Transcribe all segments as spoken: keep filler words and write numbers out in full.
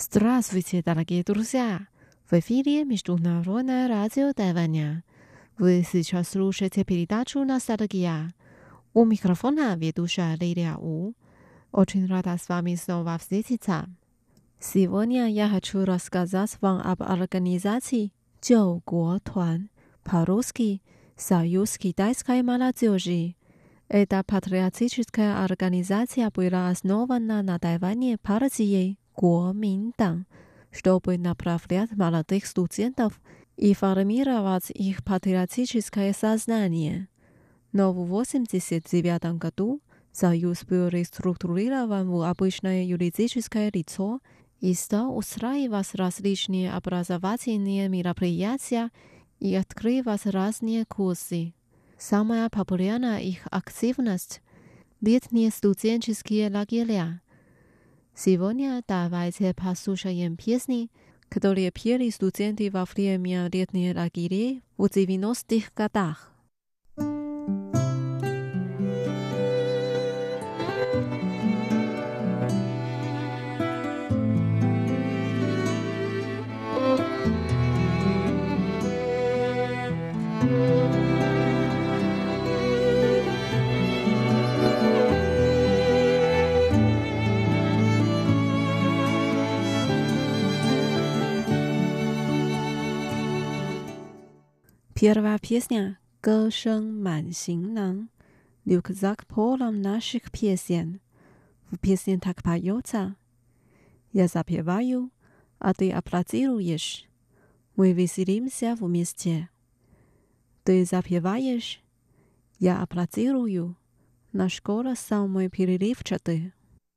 Здравствуйте, дорогие друзья! В эфире Международное радио Тайваня. Вы сейчас слушаете передачу «Ностальгия». У микрофона ведущая Лилия У. Очень рада с вами снова встретиться. Сегодня я хочу рассказать вам об организации «Джоугуотуан», по-русски «Союз китайской молодежи». Эта патриотическая организация была основана на Тайване партией Куоминтан, чтобы направлять молодых студентов и формировать их патриотическое сознание. Но в восемьдесят девятом году Союз был реструктурирован в обычное юридическое лицо и стал устраивать различные образовательные мероприятия и открывать разные курсы. Самая популярная их активность – летние студенческие лагеря. Сегодня давайте послушаем песни, которые пели студенты во время летних лагерей в девяностых годах. Первая песня «歌声满行囊», рюкзак полон наших песен. В песне так поется: «Я запеваю, а ты аплодируешь. Мы веселимся вместе. Ты запеваешь, я аплодирую. Наш голос самый переливчатый».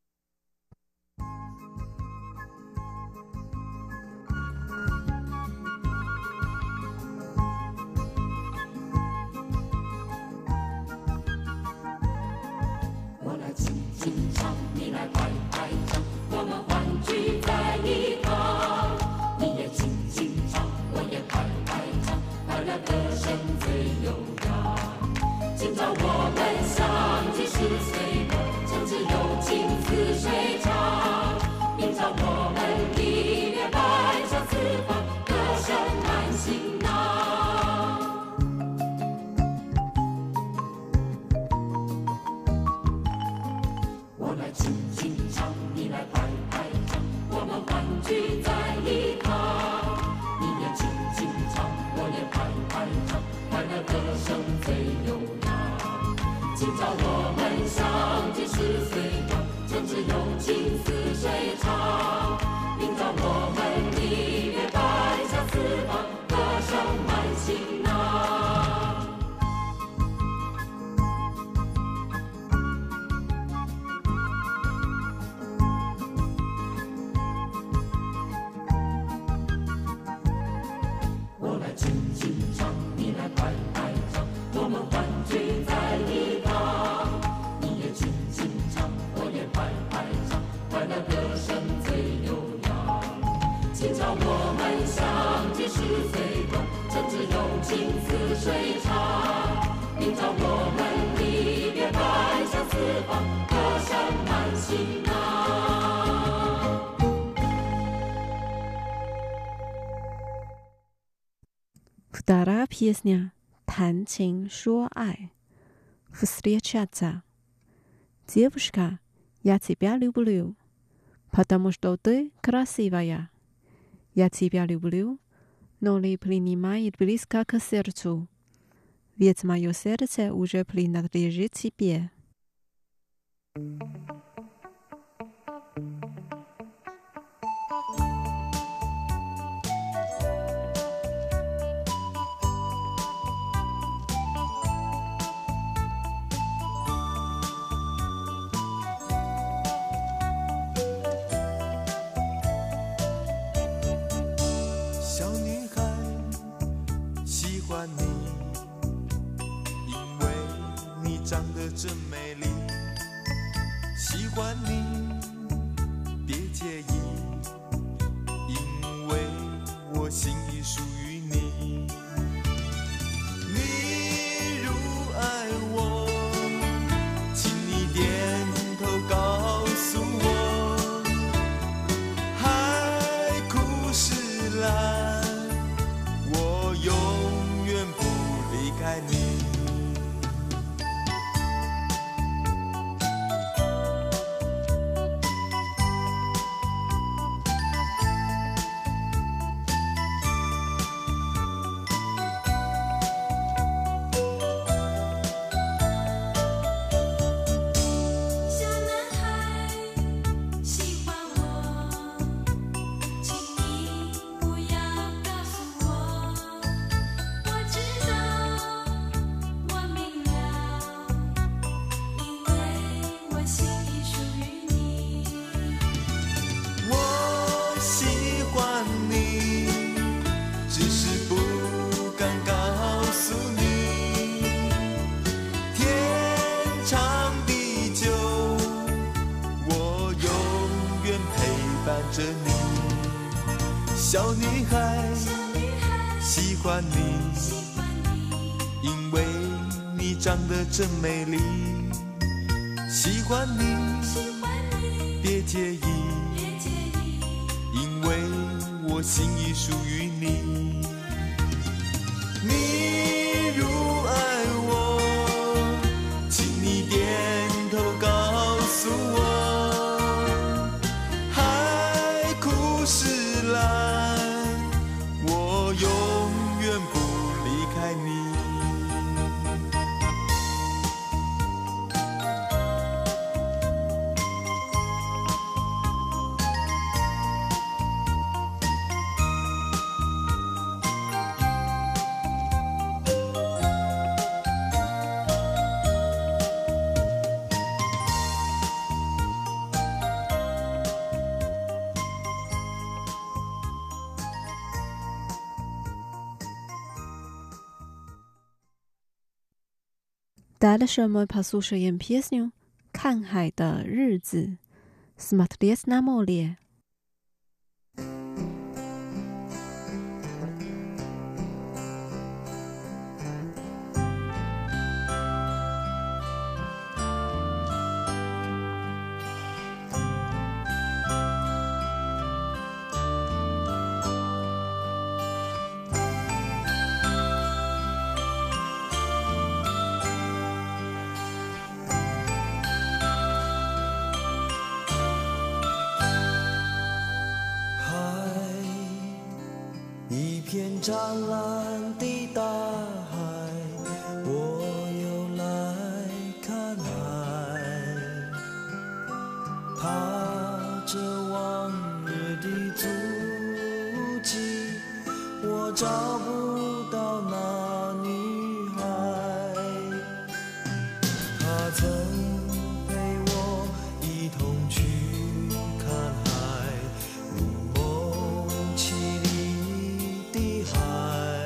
Вторая песня «谈情说爱», «Встречаться». Девушка, я тебя люблю, потому что ты красивая. Я тебя люблю, но не принимай близко к сердцу, ведь мое сердце уже принадлежит тебе. 长得真美丽，喜欢你，别介意，因为我心已属于你。你如爱我，请你点头告诉我，还着你。小女孩喜欢你，因为你长得真美丽。喜欢你，别介意，因为我心已属于你。你如爱我，请你点头告诉我，海枯石烂，我永远不离开你。 Дальше мы послушаем песню «看海的日子» Смотреть на море. 片湛蓝的大海，我又来看海，踏着往日的足迹，我找不到那女孩。她曾陪我一同去看海，如梦凄厉的海。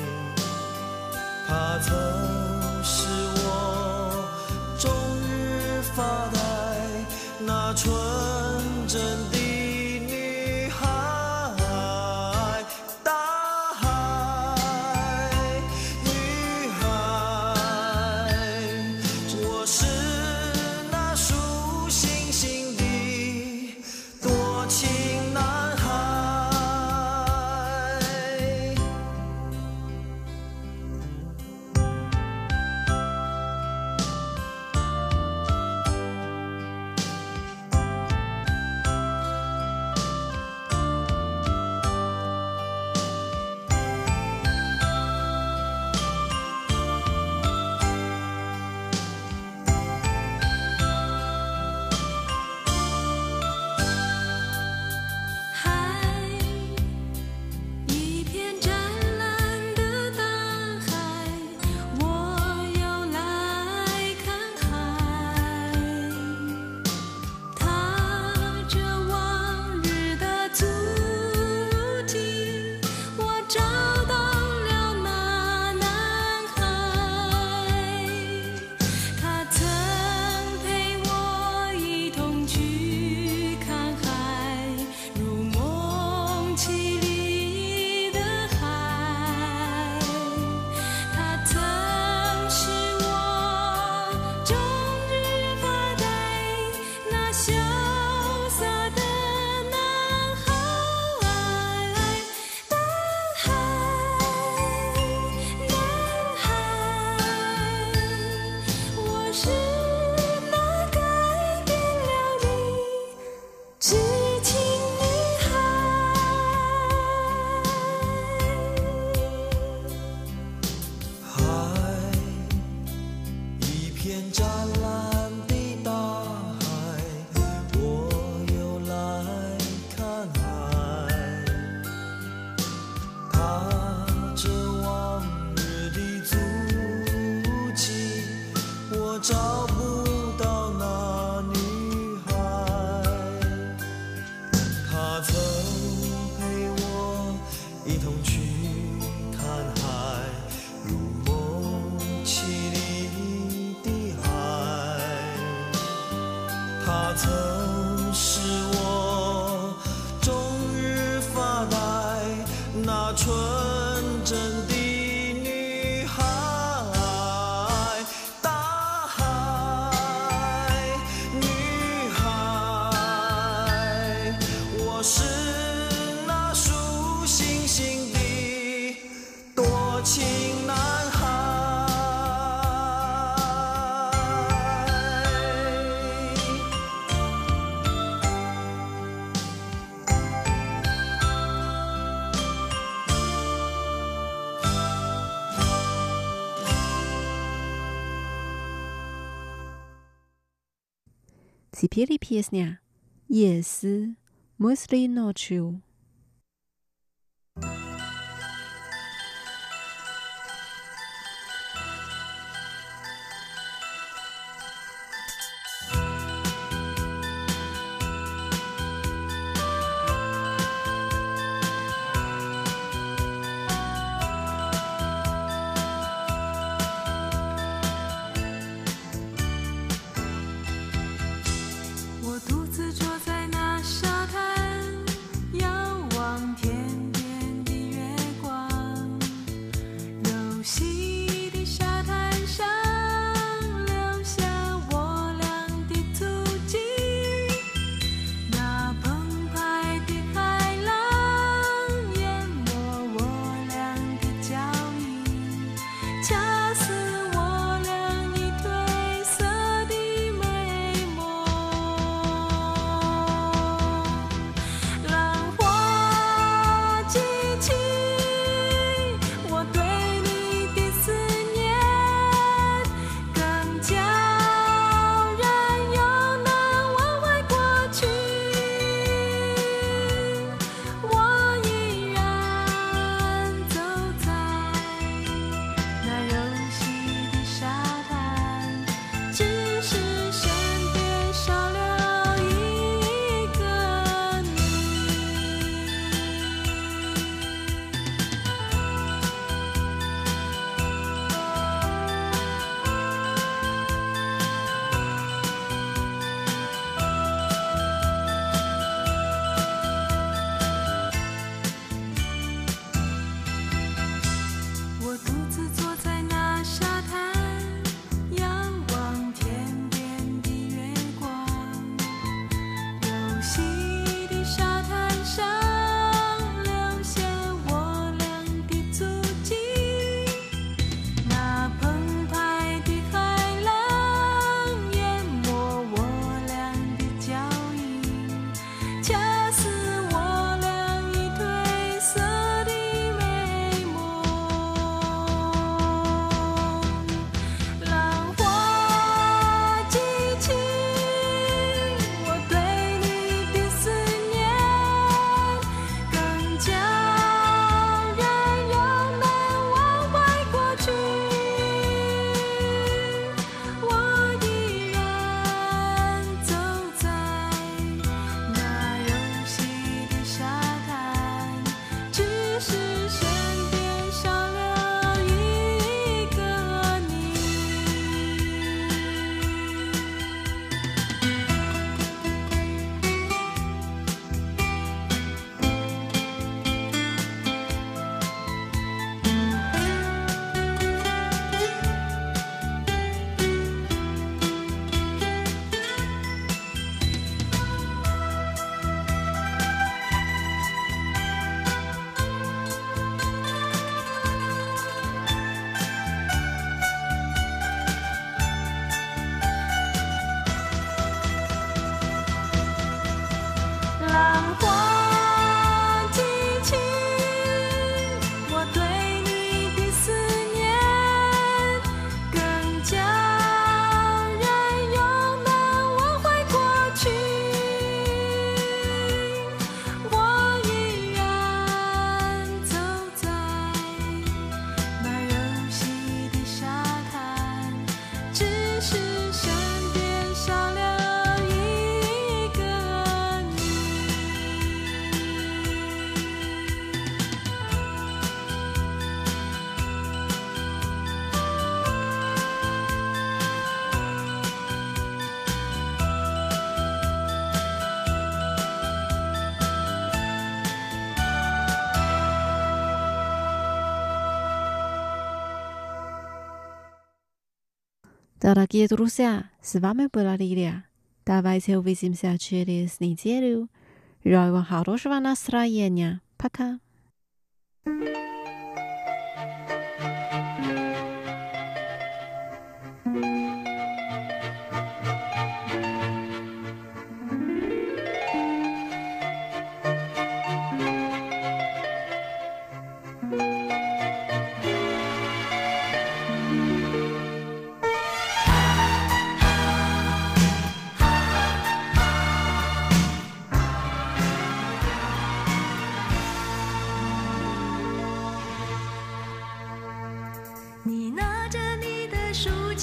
她曾是我终日发呆那纯真的女孩。大海，女孩，我是那数星星的多情男孩。找不到那女孩，她曾陪我一同去看海，如梦凄厉的海。她曾是我 Теперь песня «Если мысли ночью». 我独自坐在那沙滩，仰望天边的月光，柔细的沙滩上留下我俩的足迹，那澎湃的海浪淹没我俩的脚印，恰似我俩已褪色的美梦。浪花激起我对你的思念，更叫人又难忘怀过去。我依然走在那柔细的沙滩，只是身边少了一个你。我独自坐在那沙滩，仰望天边的月光，柔细的沙滩上留下我俩的足迹，那澎湃的海浪淹没我俩的脚印，恰似我俩已褪色的美梦。浪花激起我对你的思念，更叫人又难忘怀过去。我依然走在那柔细的沙滩，只是身边少了一个你。浪花激起我对你的思念，更叫人又难忘怀过去。我依然走在那柔细的沙滩，只是身边少了一个你。 Дорогие друзья, с вами была Лилия. Давайте увидимся через неделю. Желаю вам хорошего настроения. Пока.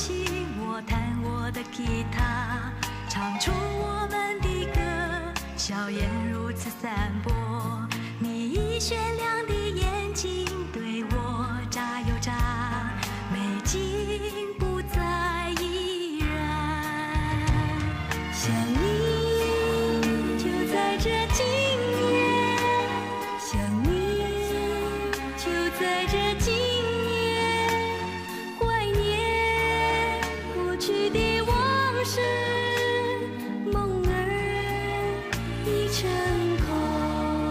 琴，我弹我的吉他，唱出我们的歌，笑颜如此散播。你以雪亮的眼睛对我眨又眨，美景不再依然。想你就在这今夜，想你就在这今夜，怀念过去的往事，梦儿已成空。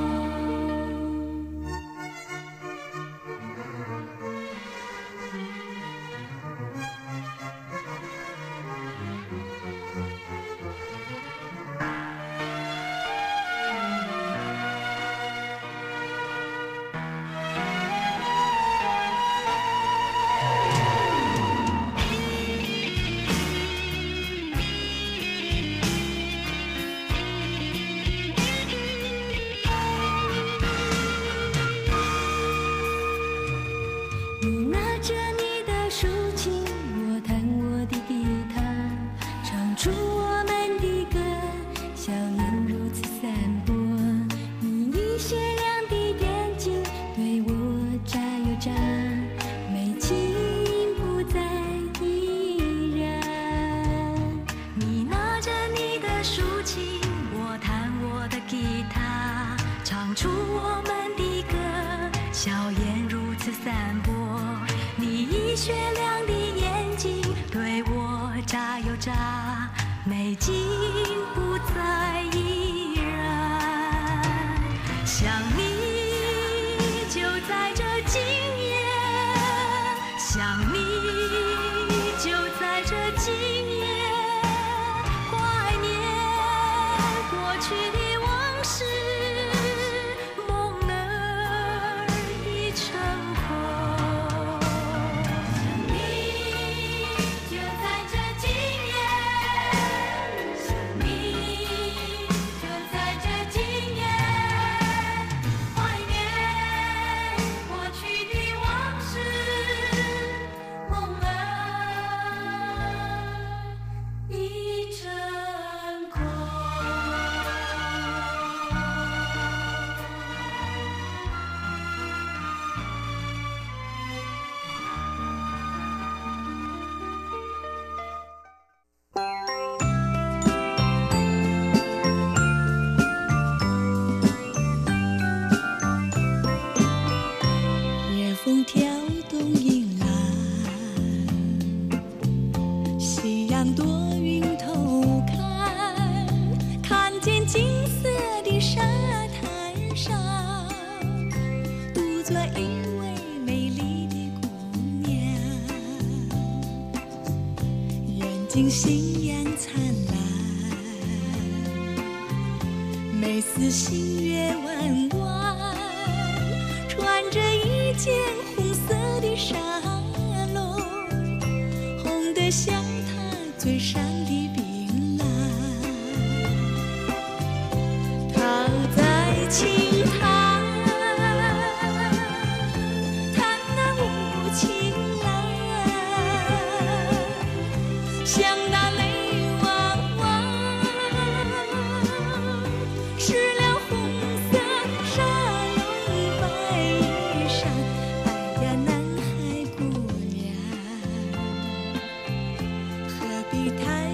你拿着你的竖琴，我弹我的吉他，唱出我们的歌，笑颜如此散播。你以雪亮的眼睛对我眨又眨，美景不再依然。你拿着你的竖琴，我弹我的吉他，唱出我们的歌，笑颜如此散播。你以雪亮的眼睛对我眨又眨，美景不再依然。想你就在这今夜，想你就在这今夜，怀念过去的往事，梦儿已成空。想你就在这今夜，想你就在这今夜，怀念过去的往事，梦儿已成空。 夜风挑动银兰，夕阳躲云偷看，看见金色的沙滩上，独坐一位美丽的姑娘，眼睛星阳灿烂，眉似新月弯弯，穿着一件红色的纱笼，红得像她嘴上的槟榔。躺在青滩，弹那无情郎，像那泪汪汪，湿了红色纱笼白衣裳。哎呀，南海姑娘，何必太